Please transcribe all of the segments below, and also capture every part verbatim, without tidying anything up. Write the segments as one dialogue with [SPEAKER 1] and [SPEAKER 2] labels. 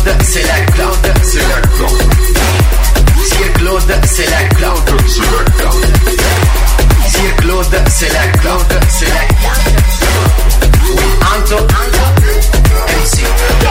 [SPEAKER 1] Claude Selecta, Selecta. Sir Claude Selecta, Selecta. Sir Claude Selecta, Selecta. Anto, Anto, M C.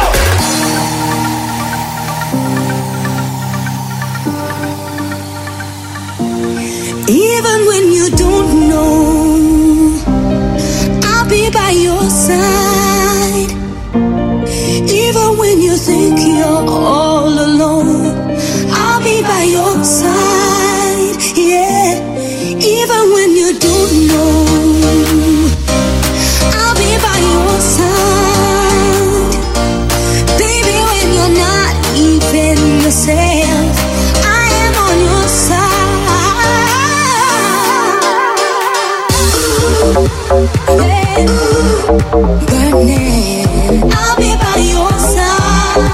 [SPEAKER 2] Even when you don't know, I'll be by your side. Even when you think you're all alone, I'll be by your side. Yeah. Even when you don't know, I'll be by your side. Baby, when you're not even yourself, I am on your side. Yeah. Burning, I'll be by your side.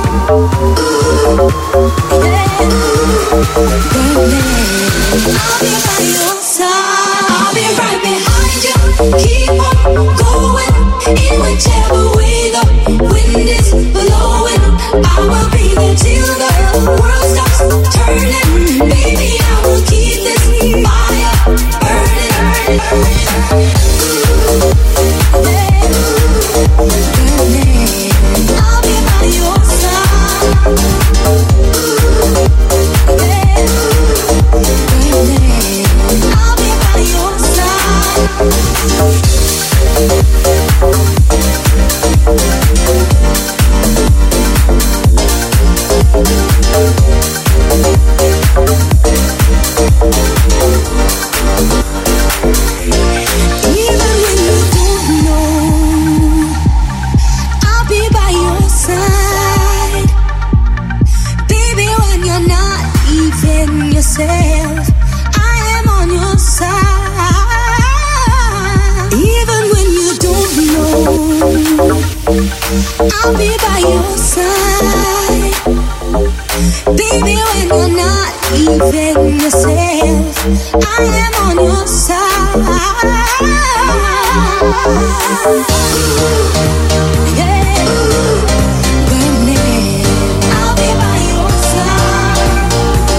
[SPEAKER 2] Yeah. Burning, I'll be by your side. I'll be right behind you. Keep on going in whichever way the wind is blowing. I will be there till the world stops turning. Baby, I will keep this fire burning, burning. Yeah. Burning, I'll be by your side. Yeah. Burning, I'll be by your side. I'll be by your side. Baby, when you're not even yourself, I am on your side. Yeah. Burning, I'll be by your side.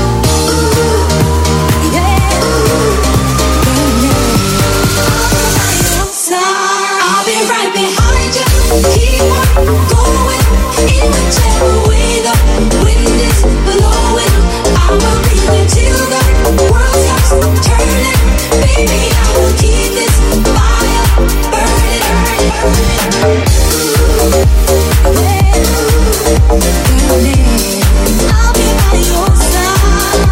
[SPEAKER 2] Yeah. Burning, I'll be by your side. I'll be right behind you. Keep on going in whichever way the wind is blowing. I will be there till the world stops turning. Baby, I will keep this fire burning, burning. Yeah. Burning, I'll be by your side.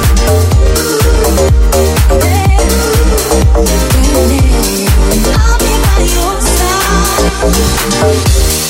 [SPEAKER 2] Yeah. Burning, I'll be by your side.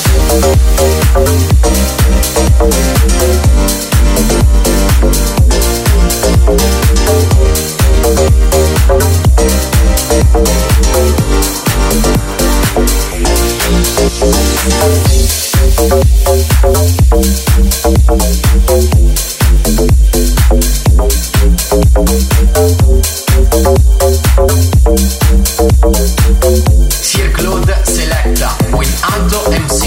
[SPEAKER 1] Sir Claude Selecta with Anto M C.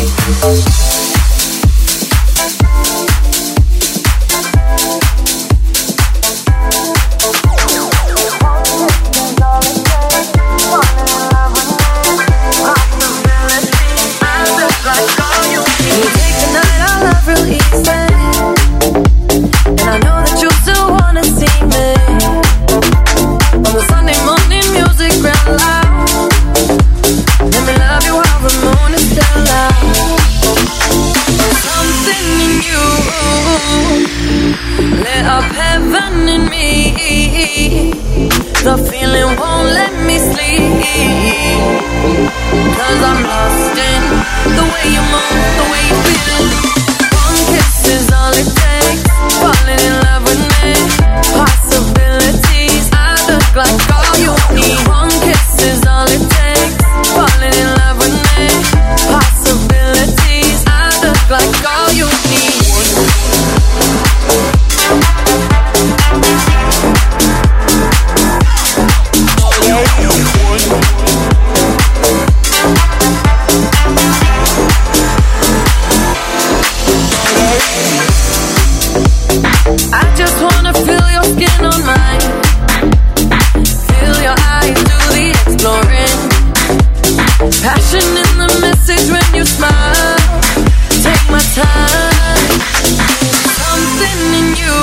[SPEAKER 2] smile, take my time. Something in you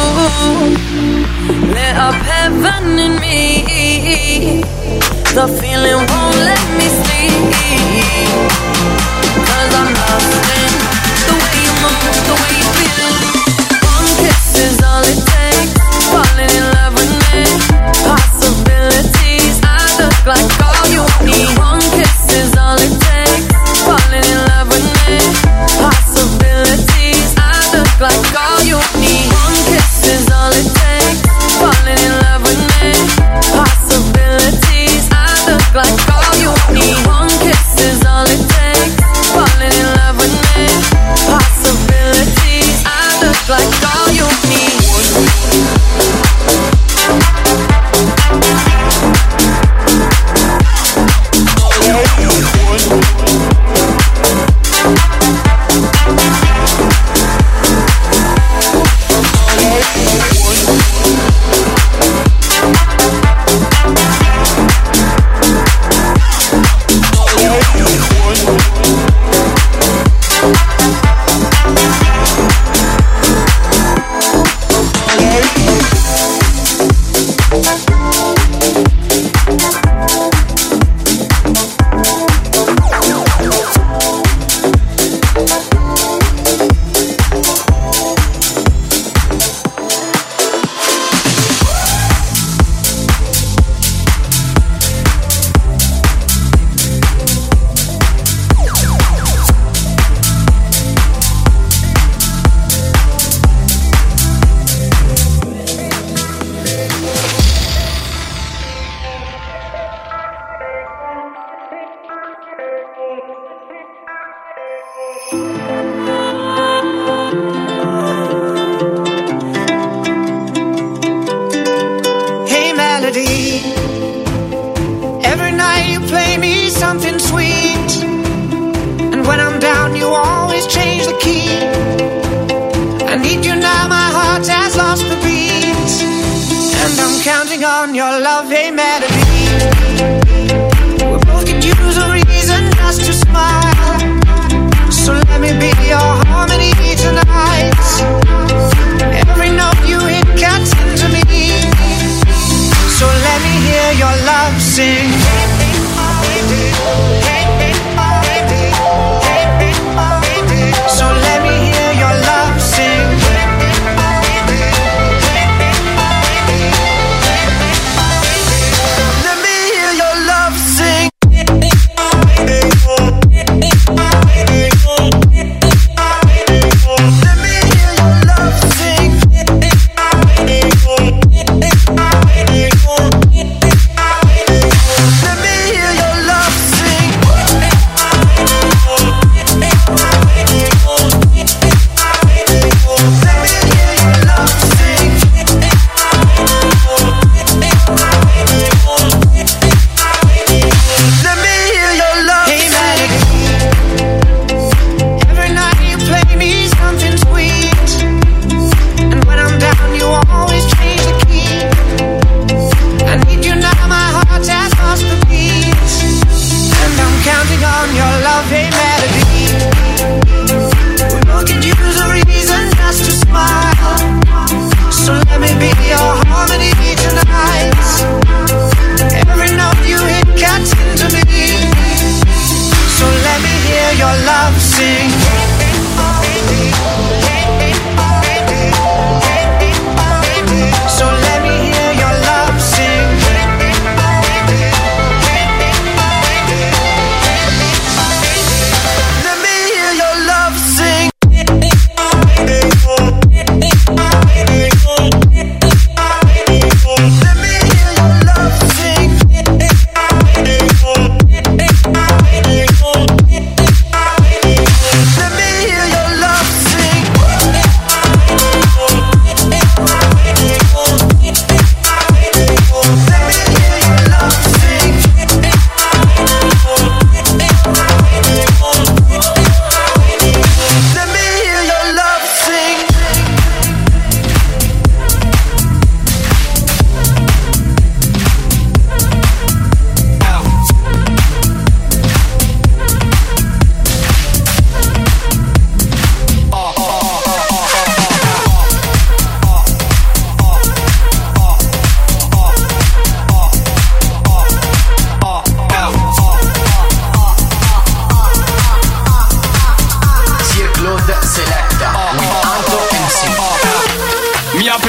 [SPEAKER 2] lit up heaven in me. The feeling won't let me sleep, 'cause I'm lost in the way you move, the way you feel. One kiss is all it takes, falling in love with me. Possibilities, I look like all you need. One kiss is all it takes, falling in love with me. Possibilities, I look like all you need. One kiss is all it takes, falling in love with me. Possibilities, I look like all you need. One kiss is all it takes, falling in love with me. Possibilities, I look like all you need.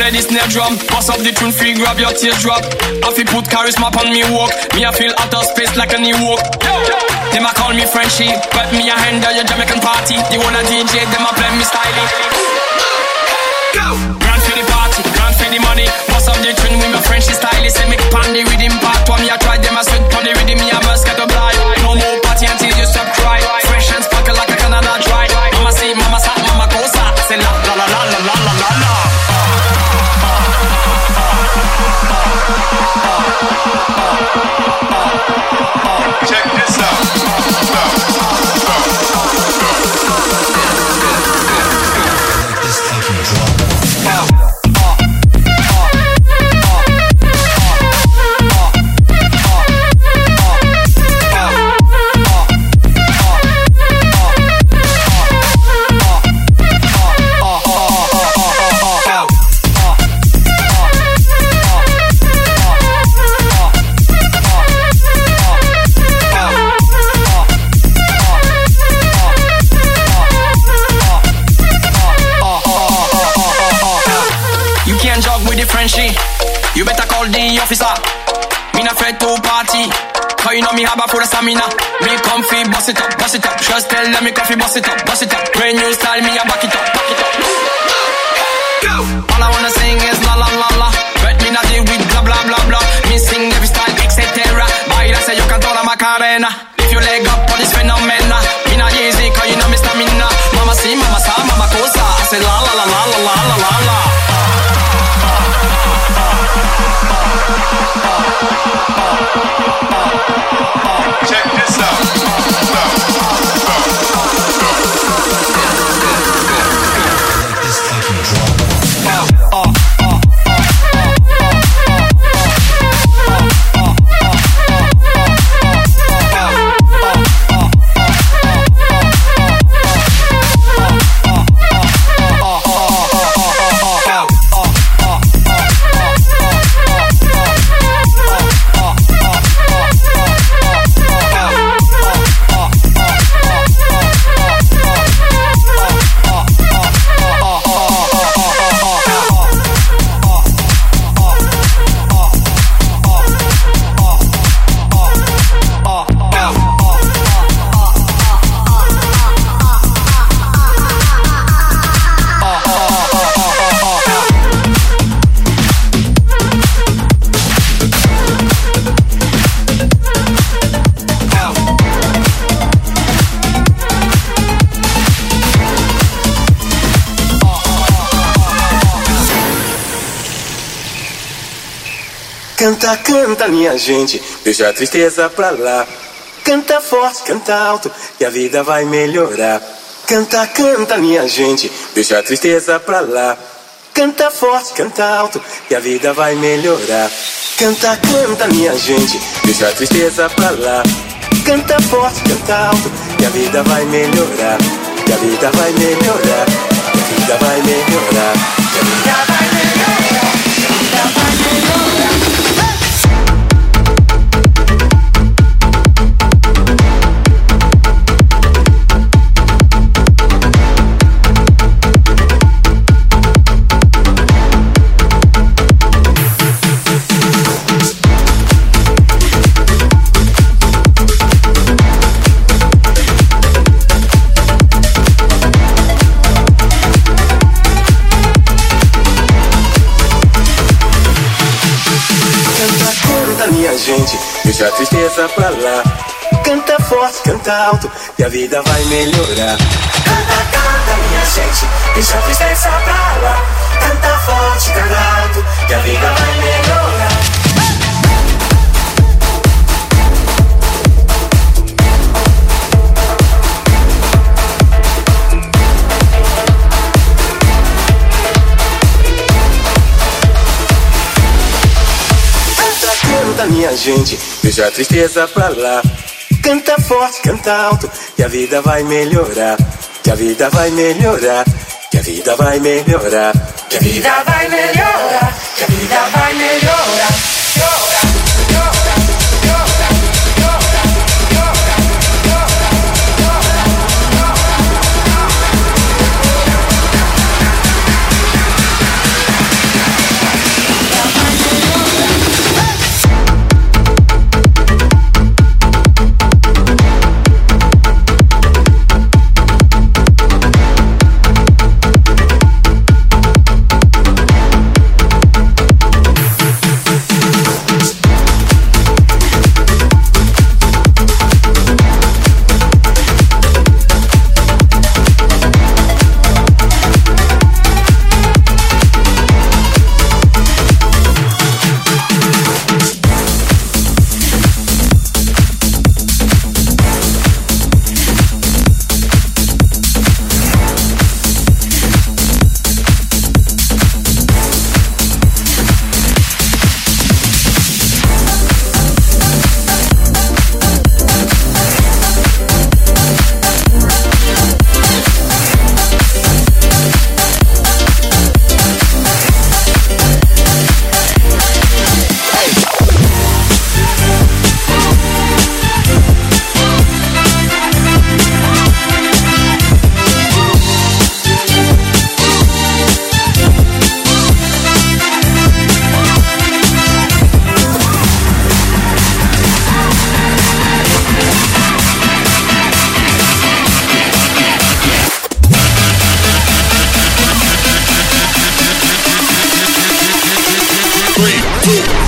[SPEAKER 3] play this snare drum. Bust up the tune free, grab your teardrop. I feel put charisma on me walk. Me I feel out of space like a new walk. Them a call me Frenchie, but me a handle your Jamaican party. The one a D J, them a play me styling. Go! Grand for the party, grand for the money. Bust up the tune with my Frenchie style. Say me pan the rhythm part. One me a try, them a sweat on the rhythm. Me a must get a blind. No more party until you stop cry. Fresh and sparkle like a Canada dry. Mama see, mama sa, mama cosa. Say la la la la la la la la la.
[SPEAKER 4] Check this out. This fucking drum.
[SPEAKER 3] You better call the officer. Me not afraid to party, cause you know me have a full of stamina. Me comfy, bust it up, bust it up. Just tell them me comfy, bust it up, bust it up. Brand new style, me a back it up, back it up. Go! All I wanna sing is la la la la. But me not deal with blah blah blah blah. Me sing every style, et cetera. Baila se yo canto la Macarena. If you leg up on this phenomena, me not easy, cause you know me stamina. Mama see, mama sa, mama cosa. I say la la la la la la la la la.
[SPEAKER 4] Check this out. This fucking drum. Uh, uh, uh.
[SPEAKER 5] Canta, canta, minha gente, deixa a tristeza pra lá. Canta forte, canta alto, que a vida vai melhorar. Canta, canta, minha gente, deixa a tristeza pra lá. Canta forte, canta alto, que a vida vai melhorar. Canta, canta, minha gente, deixa a tristeza pra lá. Canta forte, canta alto, que a vida vai melhorar. Que a vida vai melhorar, que a vida vai melhorar. Que a vida vai melhorar, que a vida vai melhorar. Gente, deixa a tristeza pra lá. Canta forte, canta alto, que a vida vai melhorar.
[SPEAKER 6] Canta, canta, minha gente, deixa a tristeza pra lá. Canta forte, canta alto, que a vida vai melhorar.
[SPEAKER 5] Minha gente, deixa a tristeza pra lá. Canta forte, canta alto, que a vida vai melhorar. Que a vida vai melhorar, que a vida vai melhorar.
[SPEAKER 6] Que a vida vai melhorar, que a vida vai melhorar.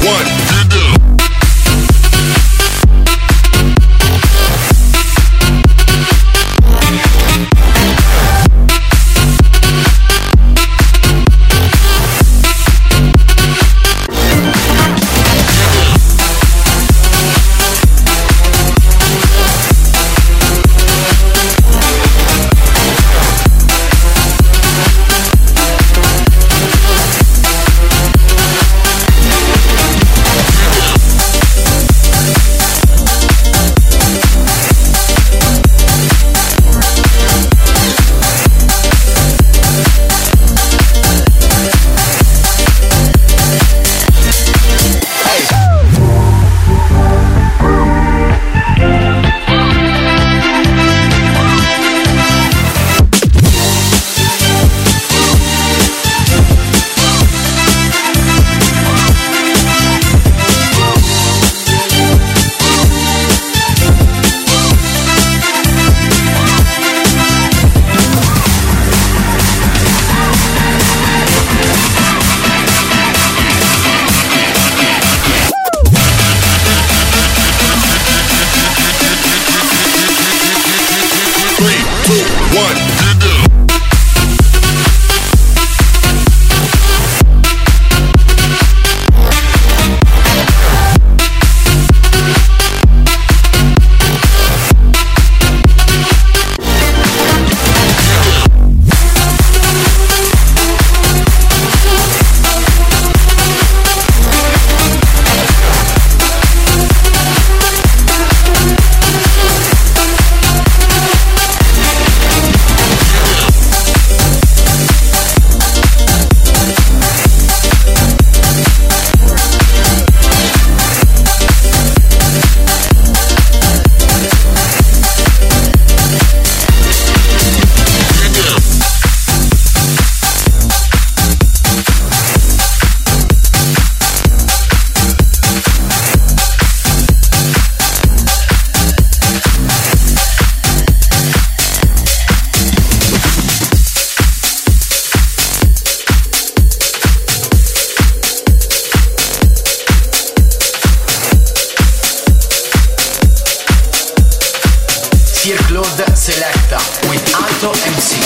[SPEAKER 1] Claude Selecta with Alto M C.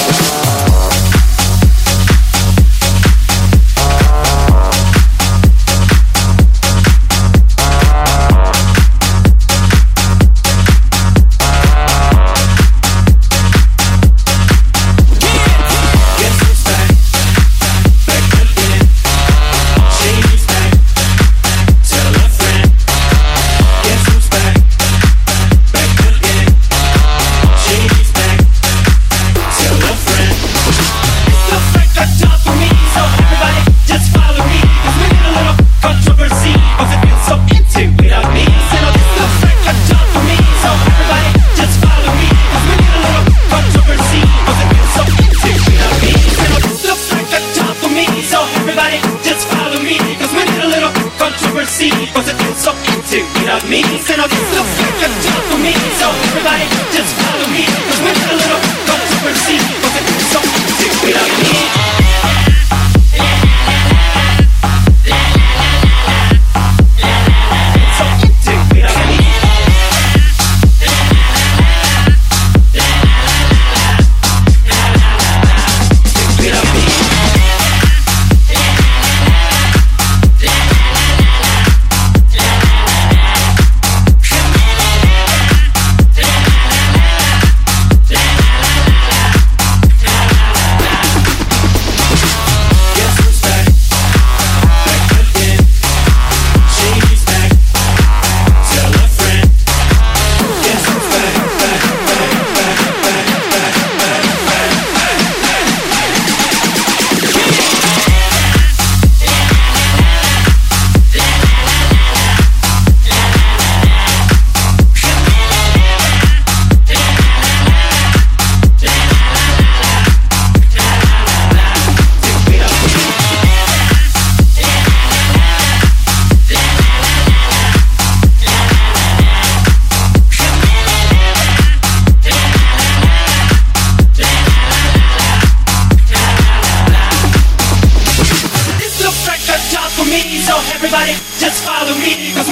[SPEAKER 6] Everybody just follow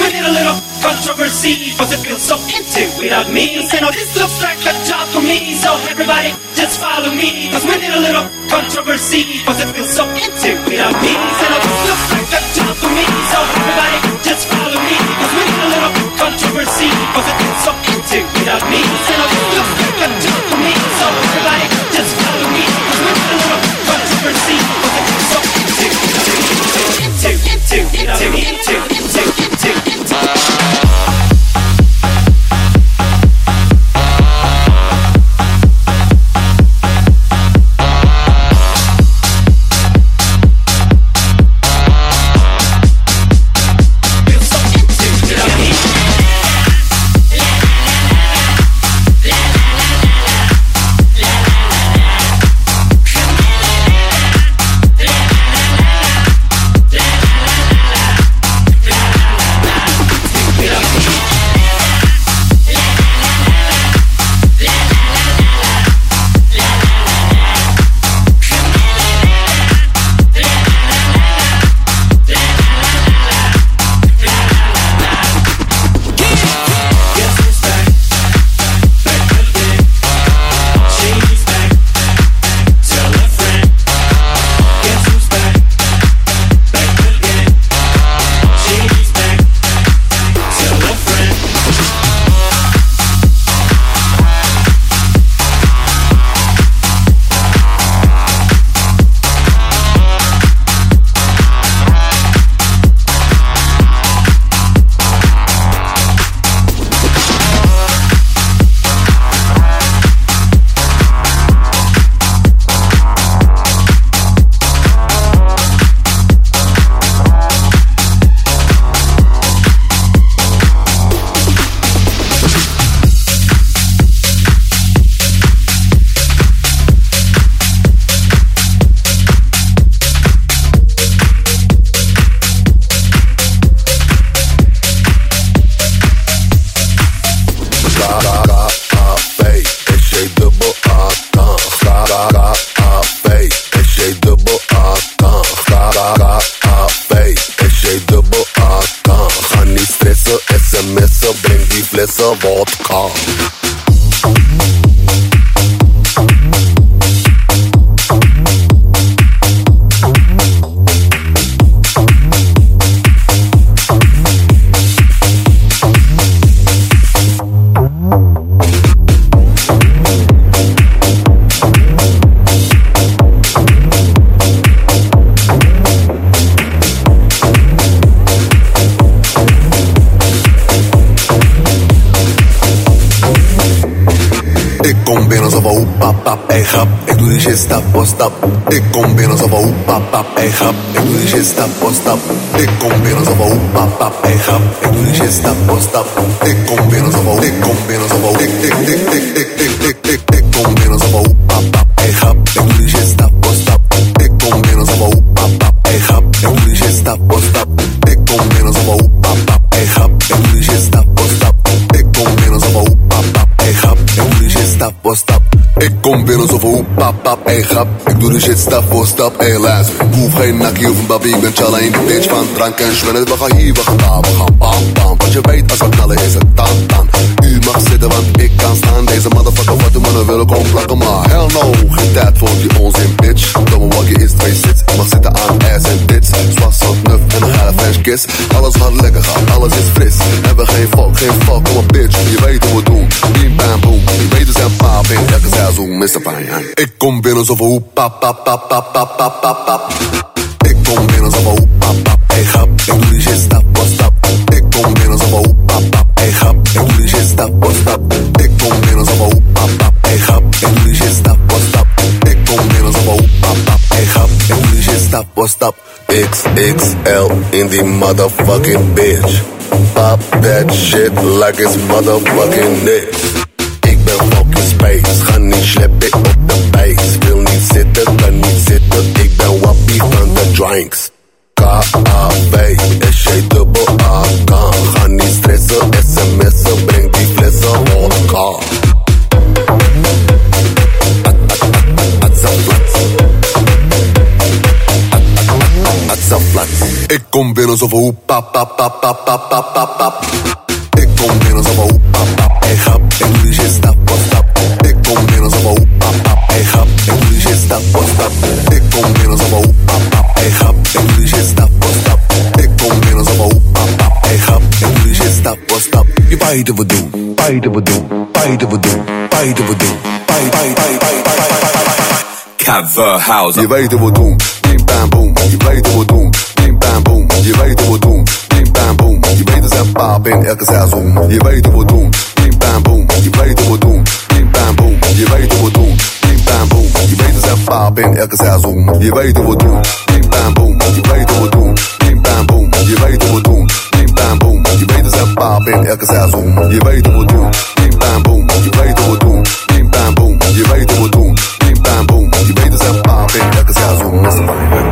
[SPEAKER 6] we need a little controversy, cause it feels so empty without me. Say no, this looks like a job for me, so everybody just follow me, cause we need a little controversy, cause it feels so empty without me. Say no, this looks like a job for me, so everybody just follow me, cause we need a little controversy, cause it feels so empty without me. Say no, this looks like a job for me, so everybody just follow me, cause we need a little controversy, cause it feels so empty without me. Empty, empty without me, empty, empty, empty, empty.
[SPEAKER 7] Vodka. Ey grap, ik doe die shit stap voor stap. Ik kom binnen zo van hoep pap pap. Ey grap, ik doe die shit stap voor stap. Ik kom binnen zo van hoep pap pap. Ey grap, ik doe die shit stap voor stap. Ik kom binnen zo van, ik kom binnen zo van, ik ik ik ik ik ik ik ik ik kom binnen zo van hoep pap pap. Ey grap, ik doe die shit stap voor stap. Ik kom binnen zo van hoep pap pap. Ey grap, ik doe die shit stap voor stap. Ik kom binnen zo van hoep pap pap. Ey grap, ik doe die shit stap voor stap. Ik kom binnen zo van hoep pap pap. Ey grap, ik doe die shit stap voor stap. Ik kom binnen zo van hoep pap pap. Ey grap, ik doe de shit stap voor stap. Ey luister, ik hoef geen nakkie of een babi. Ik ben challa in de bitch van drank en schwennen. We gaan hier, we gaan daar, we gaan bam bam. Want je weet als we knallen is het dan dan. U mag zitten want ik kan staan. Deze motherfucker wat de mannen willen komen plakken. Maar hell no, geen tijd voor die onzin bitch. Domme walkie is twee sits. Ik mag zitten aan ass en tits. Zwas, zot, nuf en een geile French kiss. Alles gaat lekker gaan, alles is fris. Hebben geen fuck, geen fuck, kom op bitch. Je weet hoe we doen, bim bam boom. Je weet we zijn paap in elke seizoen, mister Fijn. Ik kom binnen zo van hoe pap pap pap pap pap pap pap pap. Ik kom binnen zo van hoe pap pap. Ey grap, ik doe die shit stap voor stap. Ik kom binnen zo van hoe pap pap. Ey grap, ik doe die shit stap voor stap. Ik kom binnen zo van hoe pap pap. Ey grap, ik doe die shit stap voor stap. Ik kom binnen zo van hoe pap pap. Ey grap, ik doe die shit stap voor stap. X X L in die motherfucking bitch. Pop that shit like it's motherfucking niks. Ik ben fucking space, ga niet sleppen op de base. Wil niet zitten, kan niet zitten, ik ben wappie van de drinks. K A V S J dubbel A K. Ga niet stressen, sms'en, breng die flessen vodka. Ik kom binnen zo van oep, pap, pap, pap, pap, pap, pap, pap, pap. Ik kom binnen zo van oep, pap, pap, hey grap. En doe die shit stap, wat stap. Ik kom binnen zo van oep, pap, pap, hey grap. En doe die shit stap, wat stap. Ik kom binnen zo van oep, pap, pap, hey grap. En doe die shit stap, wat stap. Ik kom binnen zo van oep, pap, pap, hey grap. En doe die shit stap, wat stap. Je weet wat doen, weet wat doen, weet wat doen, weet wat doen. Weet, weet, weet, weet, weet, weet.
[SPEAKER 8] Coverhouse.
[SPEAKER 7] Je weet wat doen, bim bam boom. Je weet wat doen, bim bam boom. Je weet wat doen, bim bam boom. Je weet dat zijn pap in elke seizoen. Je weet wat doen, bim bam boom. Je weet wat doen, bim bam boom. Je weet wat doen, bim bam boom. Je weet dat zijn pap in elke seizoen. Je weet wat doen, bim bam boom. Je weet wat doen, bim bam boom. Je weet wat doen, bim bam boom. Je weet dat zijn pap in elke seizoen. Je weet wat doen, bim bam boom. Je weet wat doen, bim bam boom. Je weet wat doen, bim bam boom. Je weet dat zijn pap in elke seizoen. Dat is de man.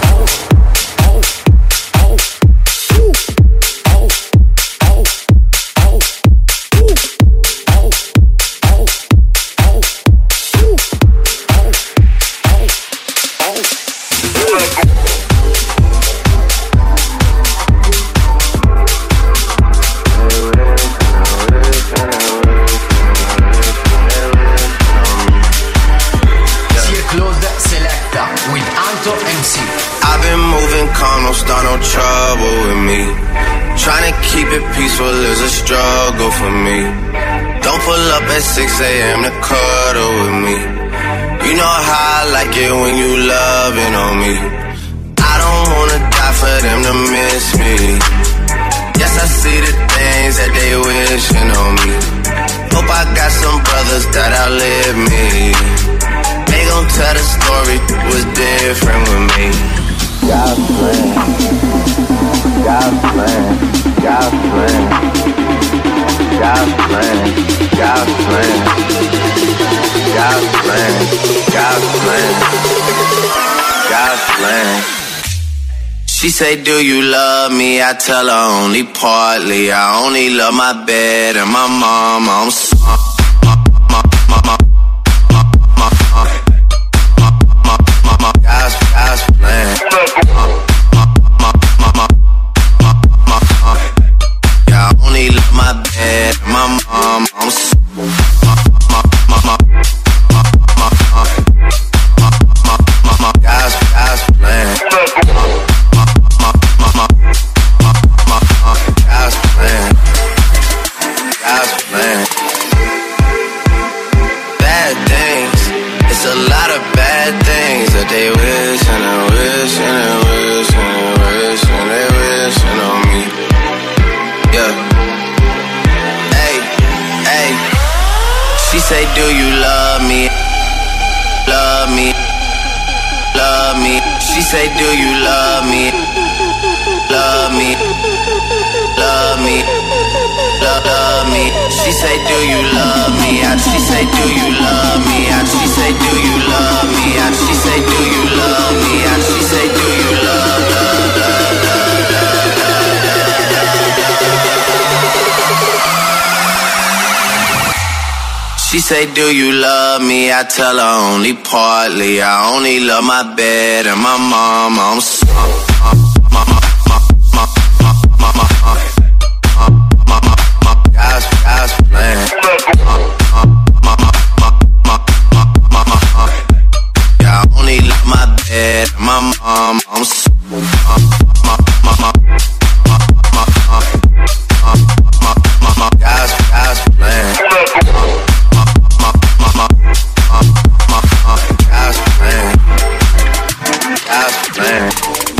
[SPEAKER 9] Peaceful is a struggle for me. Don't pull up at six a.m. to cuddle with me. You know how I like it when you loving on me. I don't wanna die for them to miss me. Yes, I see the things that they wishing on me. Hope I got some brothers that outlive me. They gon' tell the story was different with me. God's plan, God's plan, God's plan, God's plan, God's plan, God's plan, God's plan, God's plan. She say, do you love me? I tell her only partly. I only love my bed and my mom. I'm sorry. God's, God's plan. Yeah, I only love my bed, my mom. I'm so God's, God's plan. God's plan. God's plan. Bad things. It's a lot of bad things that they wish and they wish and they wish and they wish and they wishing on me. Yeah. Hey, hey. She say, do you love me? Love me. Love me. She say, do you love me? Love me. Love me. Love, love me. She say, do you love me? And she say, do you love me? And she say, do you love me? And she say, do you love me? And she say, do you love, love, love, love, love, love. She say, do you love me? I tell her only partly. I only love my bed and my mom. I'm sorry. God's, God's plan. Yeah, I only love my bed, my mom. I'm so God's, God's plan. God's plan. God's plan.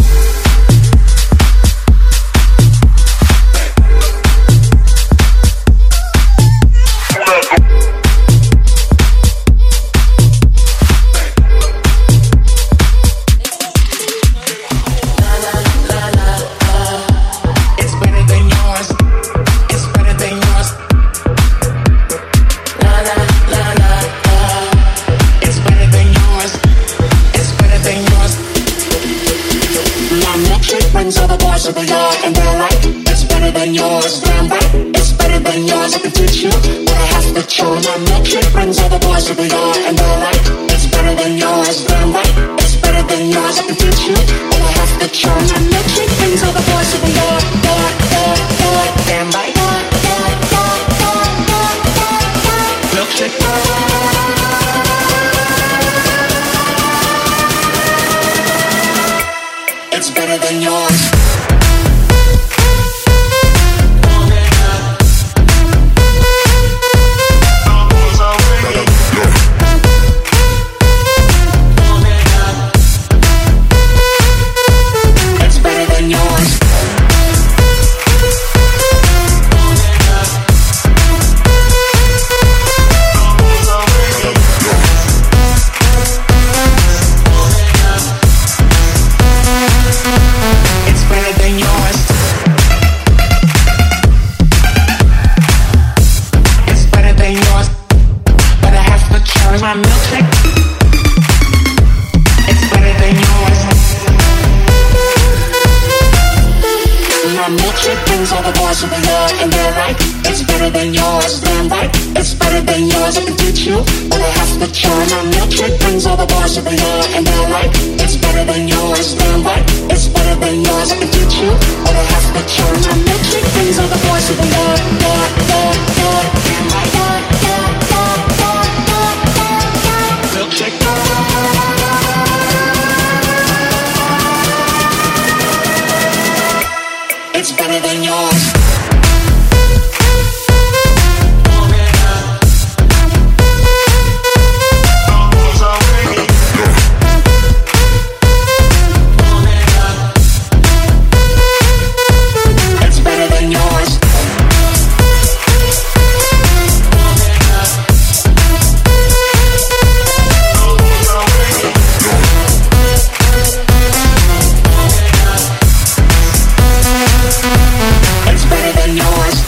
[SPEAKER 10] of the yard, and they're like, it's better than yours, damn right, it's better than yours, I can teach you, but I have to show my milkshake brings all the boys of the yard, and they're like, it's better than yours, damn right, it's better than yours, I can teach you, but I have to show my milkshake. brings all the boys to the yard, yard, yard, yard. Stand right. Milkshake. It's better than yours. My milkshake, it's better than yours. My milkshake brings all the boys to the yard, and they're right, it's better than yours. Damn right, it's better than yours. I can teach you, but I have to try. My milkshake brings all the boys to the yard, and they're right, it's better than yours. Damn right, it's better than yours. I can teach you, but I have to try. My milkshake brings all the boys to the yard, yard, yard, yard. Damn right, yard, yard, yard, yard, yard. Milkshake. It's better than yours. It's better than yours. It's better than yours.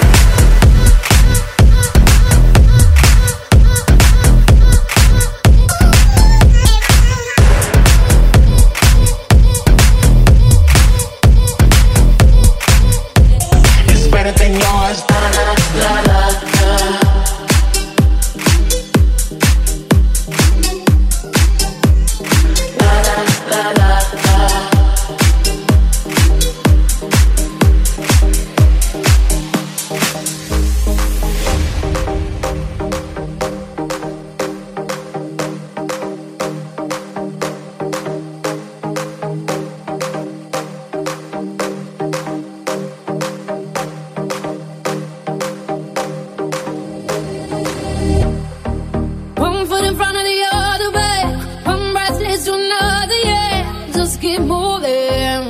[SPEAKER 10] It's better than yours. La, la, la, la. La, la, la, la, la.
[SPEAKER 2] One foot in front of the other, babe. One breath leads to another, yeah. Just keep moving.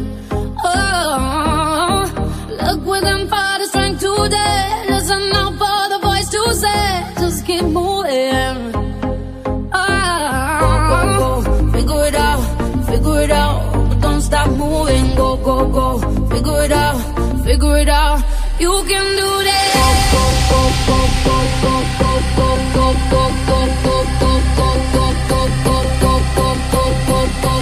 [SPEAKER 2] Oh, look within for the strength today. Listen out for the voice to say. Just keep moving. Oh, figure it out, figure it out. But don't stop moving. Go, go, go. Figure it out, figure it out. You can do that. Go, go, go, go, go, go, go, go, go, go, go, go, go, go, go, go, go, go, go, go,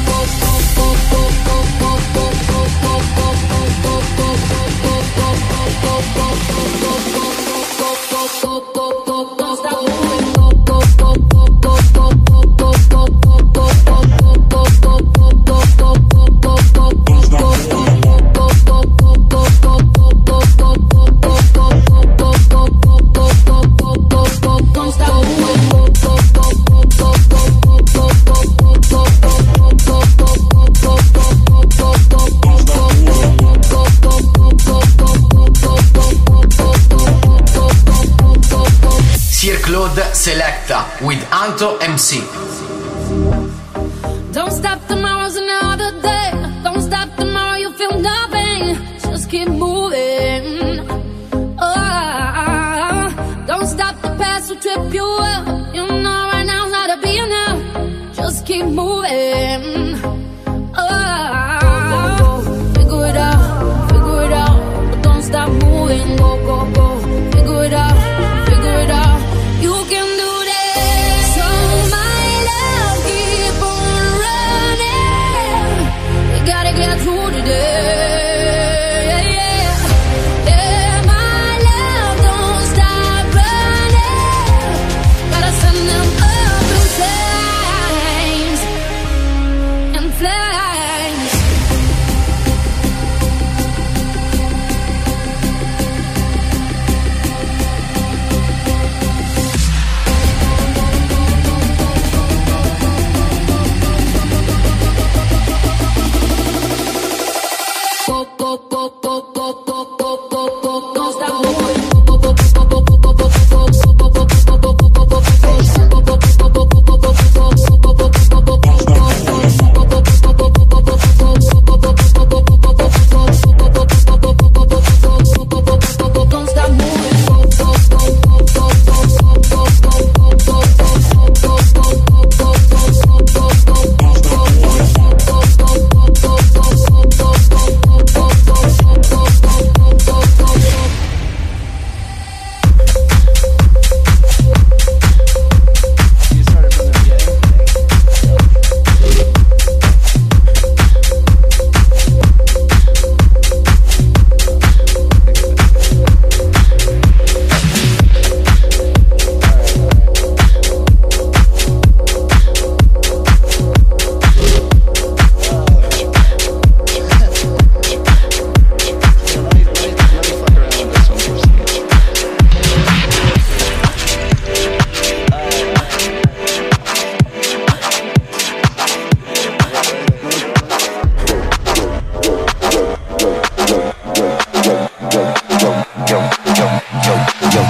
[SPEAKER 1] Selecta with Anto M C.
[SPEAKER 2] Don't stop, tomorrow's another day. Don't stop, tomorrow you'll feel nothing. Just keep moving. Oh, don't stop, the past will trip you up. You know right now's not to be enough. Just keep moving. Oh, figure it out, figure it out. But don't stop moving. Go, go, go. Figure it out, figure it out. You can do that. So my love, keep on running.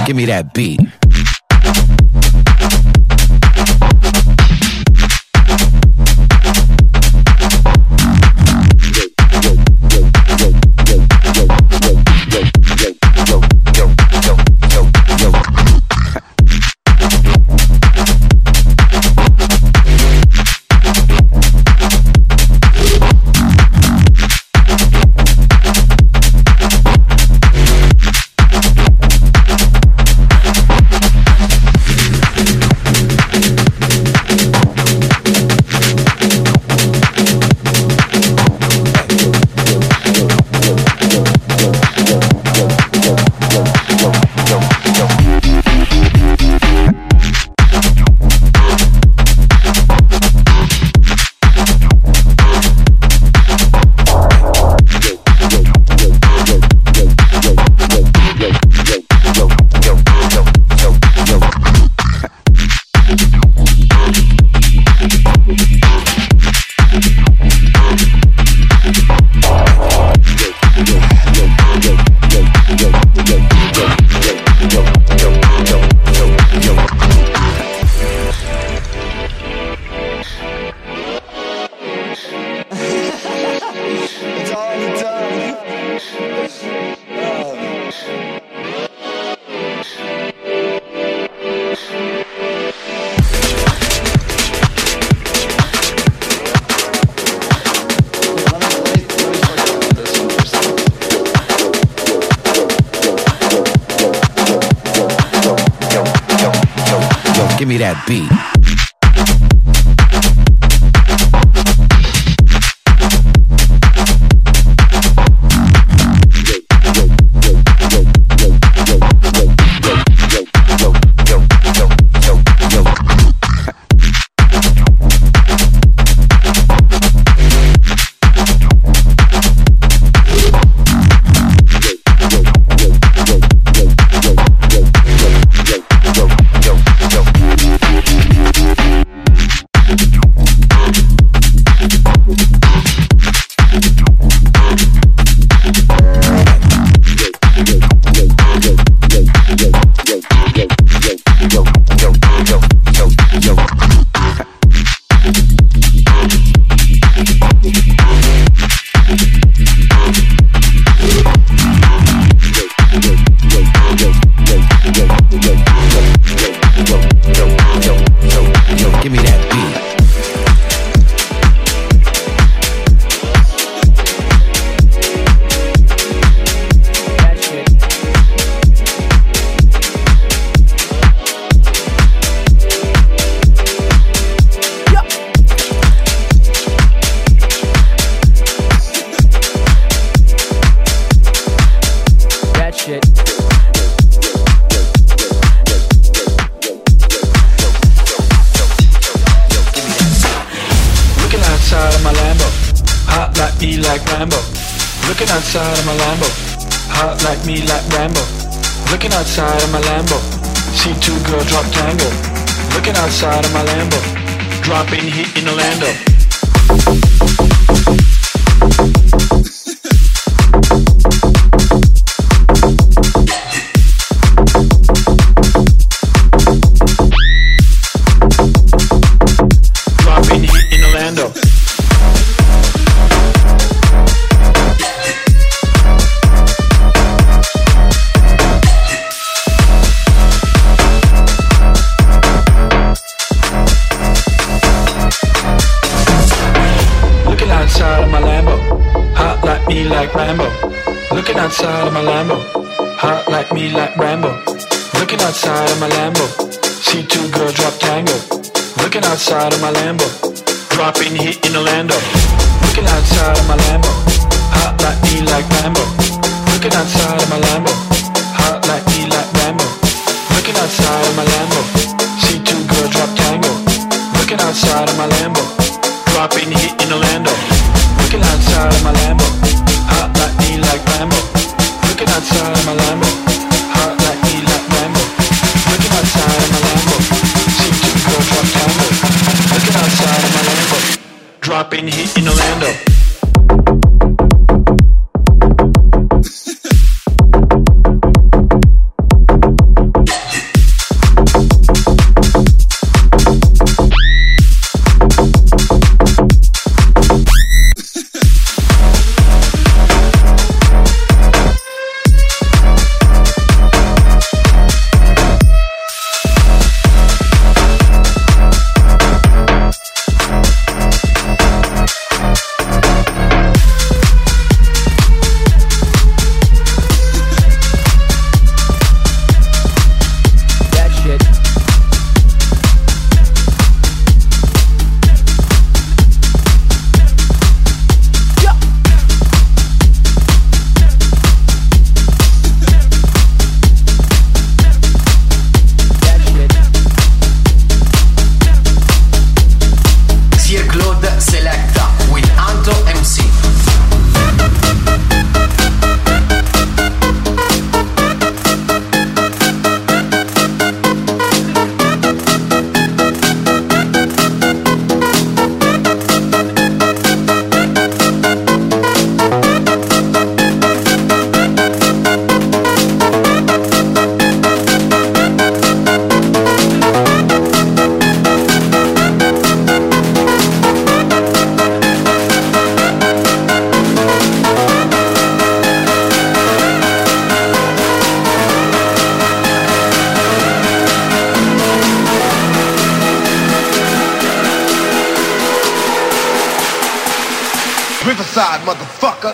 [SPEAKER 8] Give me that beat. Give me that beat.
[SPEAKER 11] Outside of my Lambo, hot like me like Rambo. Looking outside of my Lambo, see two girls drop tango. Looking outside of my Lambo, dropping heat in Orlando. Dropping heat in Orlando. Me like Rambo, looking outside of my Lambo, hot like me like Rambo. Looking outside of my Lambo, see two girls drop tango. Looking outside of my Lambo, dropping heat in Orlando. Looking outside of my Lambo, hot like me like Rambo. Looking outside of my Lambo, hot like me like Rambo. Looking outside of my Lambo, see two girls drop tango. Looking outside of my Lambo, dropping heat in Orlando. Looking outside of my Lambo, hot like me like Rambo. Looking outside of my Lambo, hot like me like Rambo. Looking outside of my Lambo, see two girls drop tango. Looking outside of my Lambo, dropping heat in Orlando.
[SPEAKER 12] Riverside, motherfucker.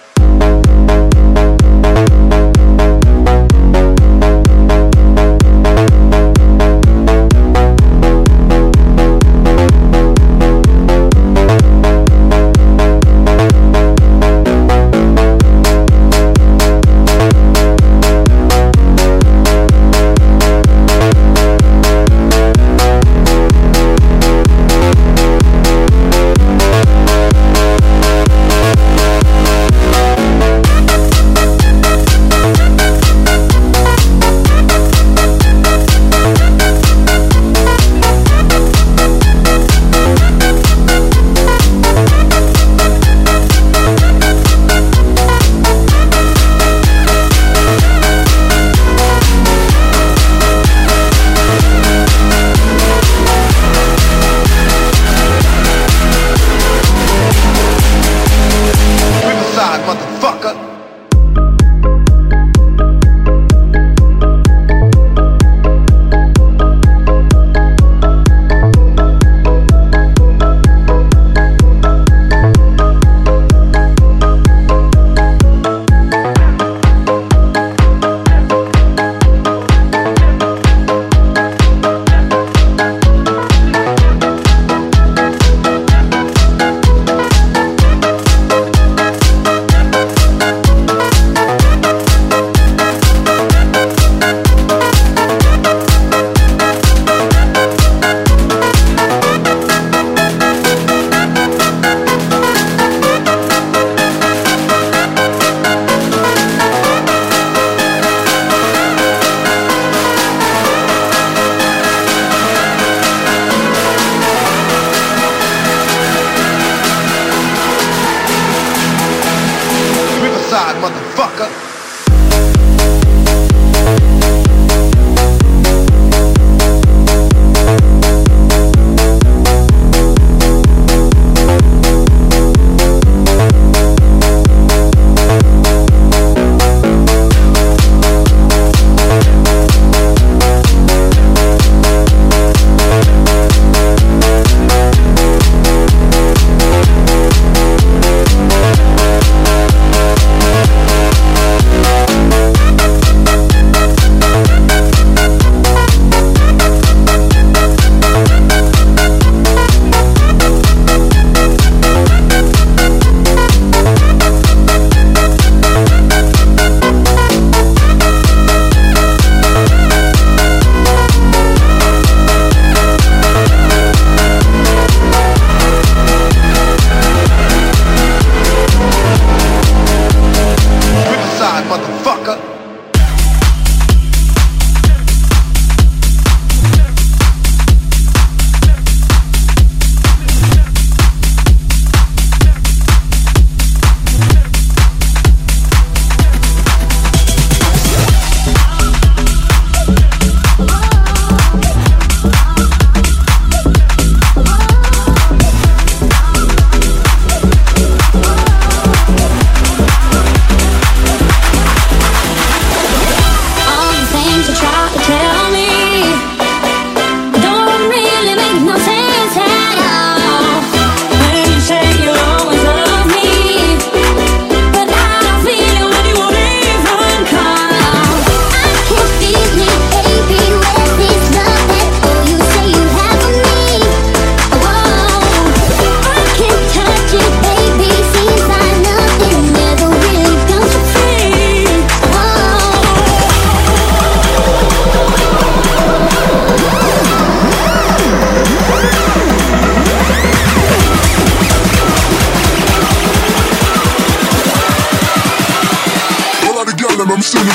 [SPEAKER 13] I'm singing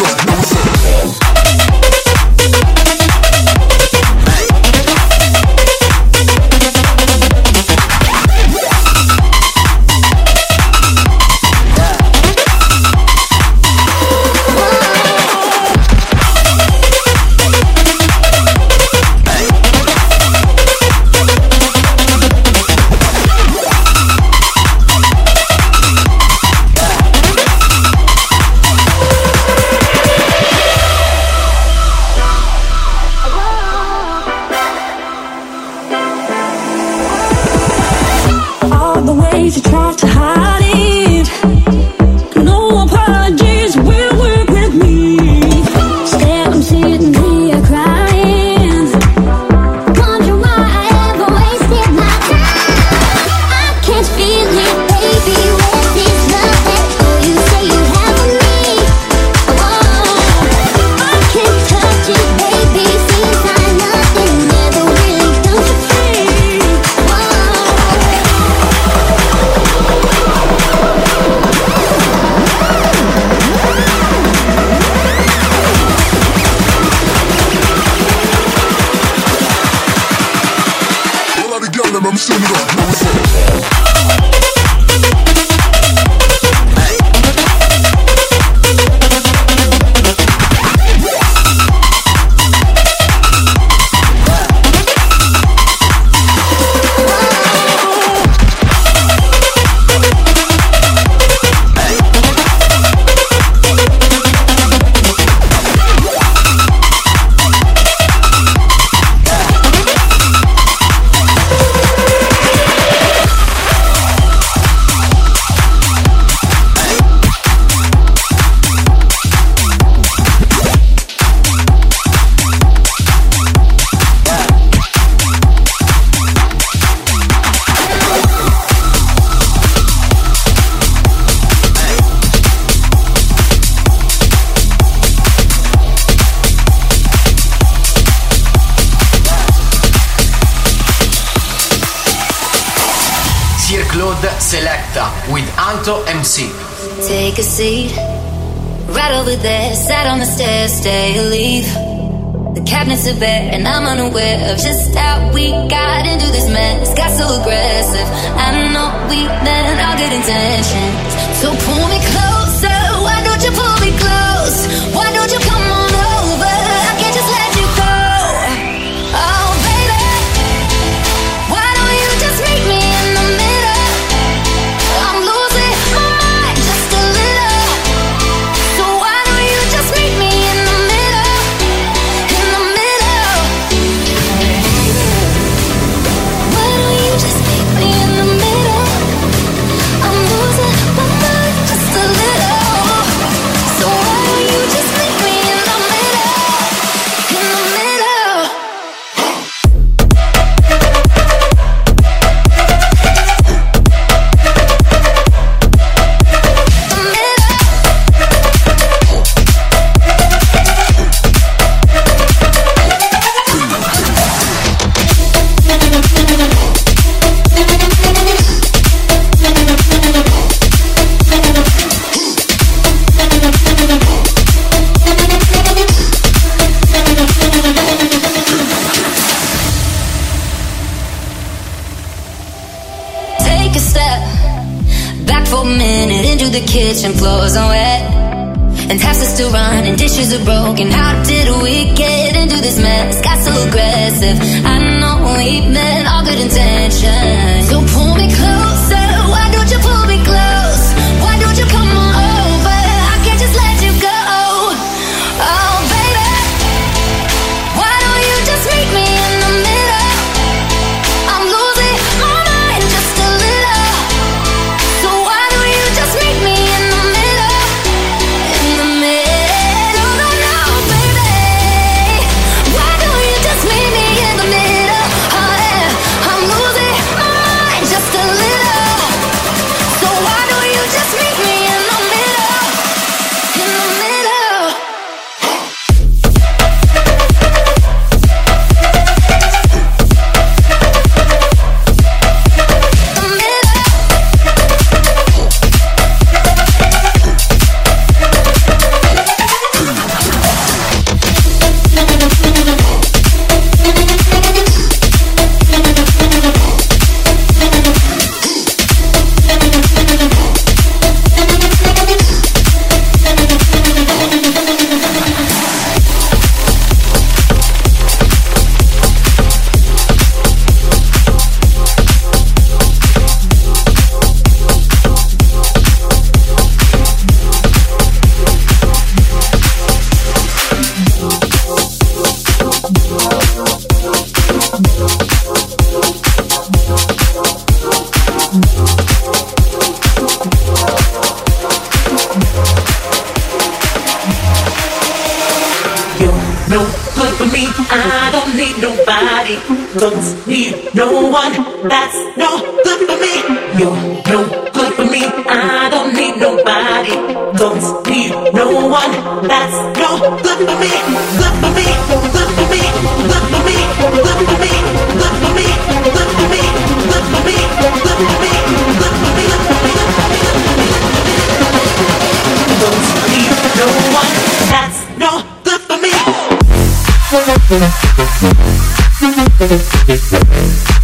[SPEAKER 13] it up.
[SPEAKER 2] You try to hide it.
[SPEAKER 1] Selecta with Alto M C.
[SPEAKER 12] Take a seat, right over there, sat on the stairs, stay or leave. The cabinets are bare and I'm unaware of just how we got into this mess. Got so aggressive, I know we meant all good intentions. So pull me closer, why don't you pull me close? Why don't you come on over, I can't just let you go. Oh baby, why don't you just meet me in the middle? I'm losing my mind just a little. So why don't you just meet me in the middle? In the middle. Why don't you just meet me in the middle? I'm losing my mind just a little. So why don't you just meet me in the middle? In the middle. Take a step back for a minute into the kitchen, floors are wet and taps are still running, dishes are broken. How did we get into this mess? Got so aggressive, I know we meant all good intentions. So pull me closer, why don't you pull me close? Why don't you come on over, I can't just let you go. Oh baby, why don't you just meet me in the middle? I'm losing my mind just a little. So why don't you just meet me in the middle? In the middle, no, no, baby. Why don't you just meet me in the middle? Oh yeah, I'm losing my mind just a little. So why don't you just meet me in the middle? In the middle.
[SPEAKER 14] No good for me, I don't need nobody. Don't need no one, that's no good for me. You're no good for me, I don't need nobody. Don't need no one, that's no good for me. Good for me, good for me, good for me, good for me, good for me, good for me, good for me, good for me, good for me, don't need no one, that's no good for me.
[SPEAKER 10] Thank you.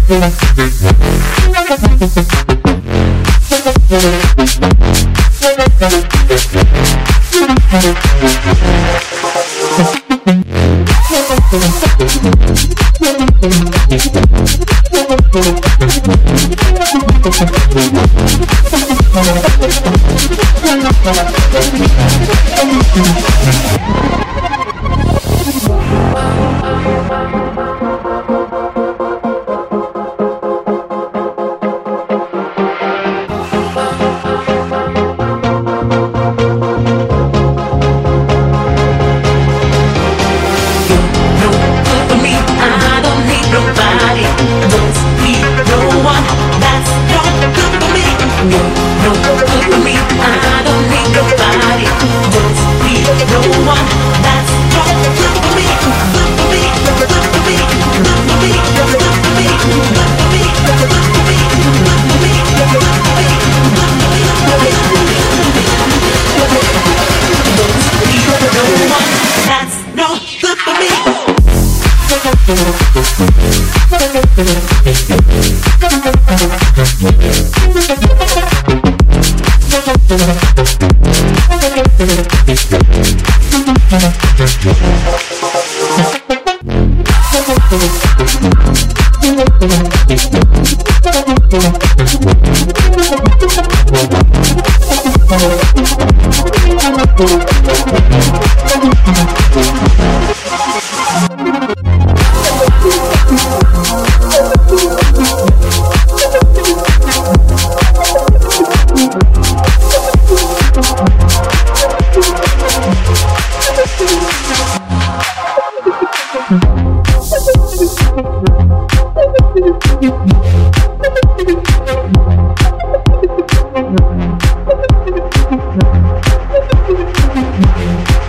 [SPEAKER 2] We'll be right back.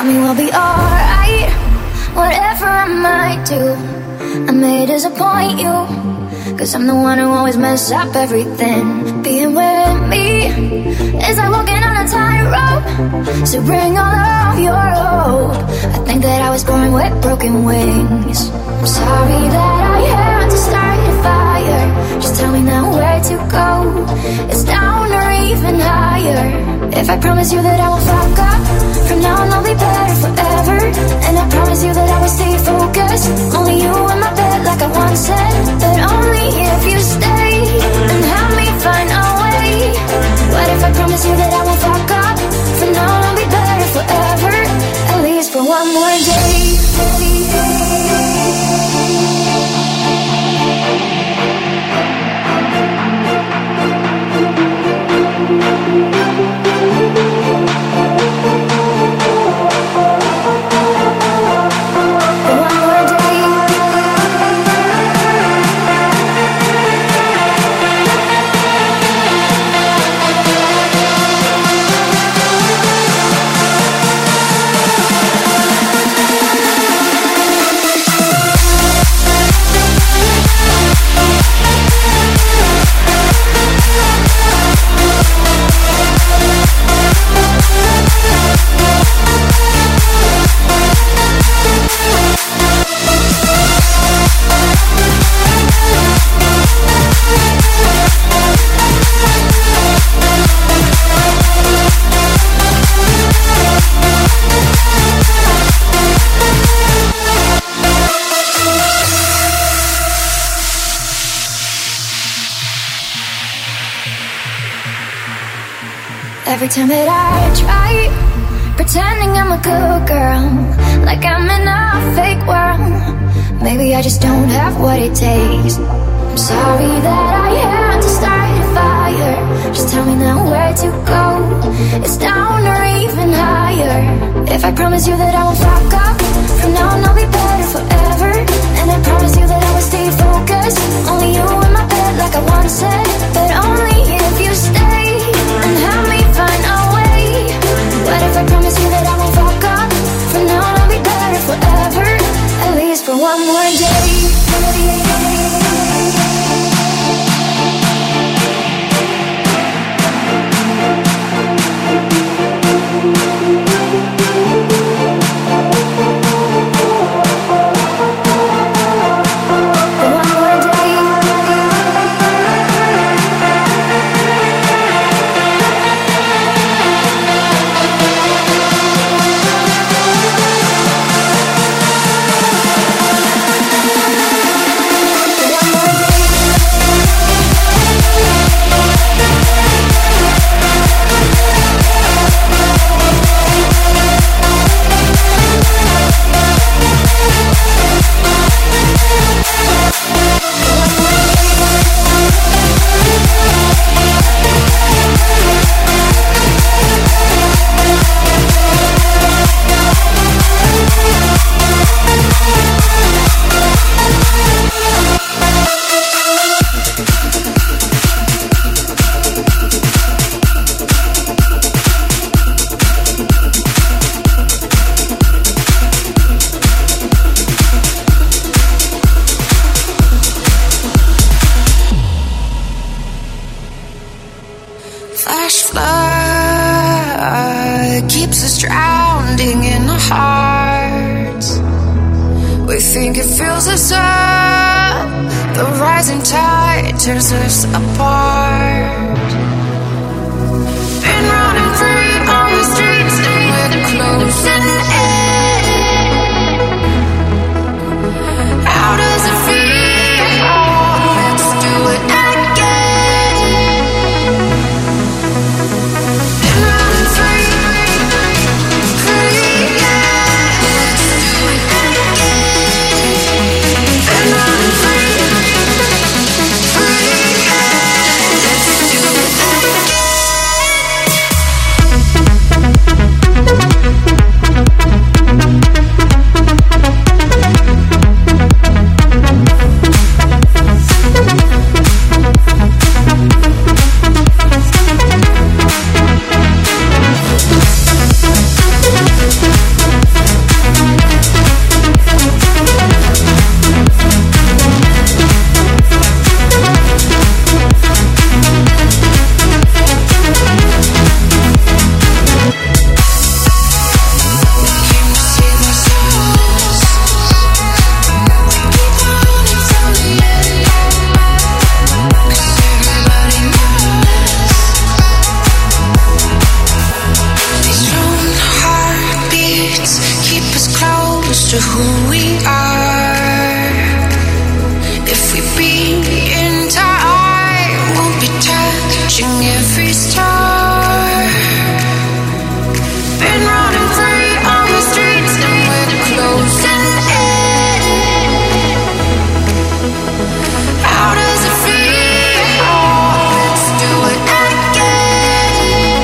[SPEAKER 12] Tell me we'll be alright, whatever I might do. I may disappoint you, cause I'm the one who always mess up everything. Being with me is like walking on a tightrope, so bring all of your hope. I think that I was born with broken wings. I'm sorry that I had to start a fire. Just tell me now where to go. It's down or even higher. If I promise you that I won't fuck up, from now on I'll be better forever. And I promise you that I will stay focused. Only you in my bed like I once said, but only if you stay and help me find a way. What if I promise you that I won't fuck up? From now on I'll be better forever, at least for one more day. Every time that I try pretending I'm a good girl, like I'm in a fake world, maybe I just don't have what it takes. I'm sorry that I had to start a fire. Just tell me now where to go. It's down or even higher. If I promise you that I won't fuck up, from now on I'll be better forever. And I promise you that I will stay focused. Only you in my bed like I once said, but only if you stay and help me find a way. What if I promise you that I won't fuck up? From now on I'll be better forever, at least for one more day.
[SPEAKER 15] Flash flood keeps us drowning in our hearts. We think it fills us up. The rising tide tears us apart. Been running free on the streets and we're closing in. How does it feel? Let's do it again. Been running free, free, yeah. Let's do it again. Been running free, free, yeah. to who we are. If we be in time, we'll be touching every star. Been running free on the streets and we're closing in. How does it feel? Let's do it again.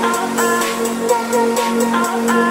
[SPEAKER 10] oh, oh.